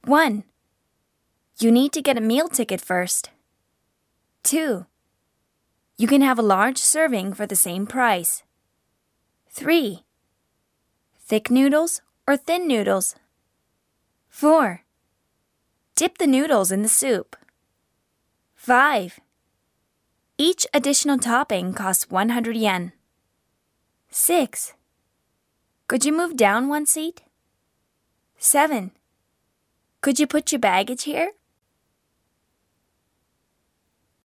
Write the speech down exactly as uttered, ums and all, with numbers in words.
one. You need to get a meal ticket first. two. You can have a large serving for the same price. three. Thick noodles or thin noodles? four. Dip the noodles in the soup. five. Each additional topping costs one hundred yen. six. Could you move down one seat? seven. Could you put your baggage here?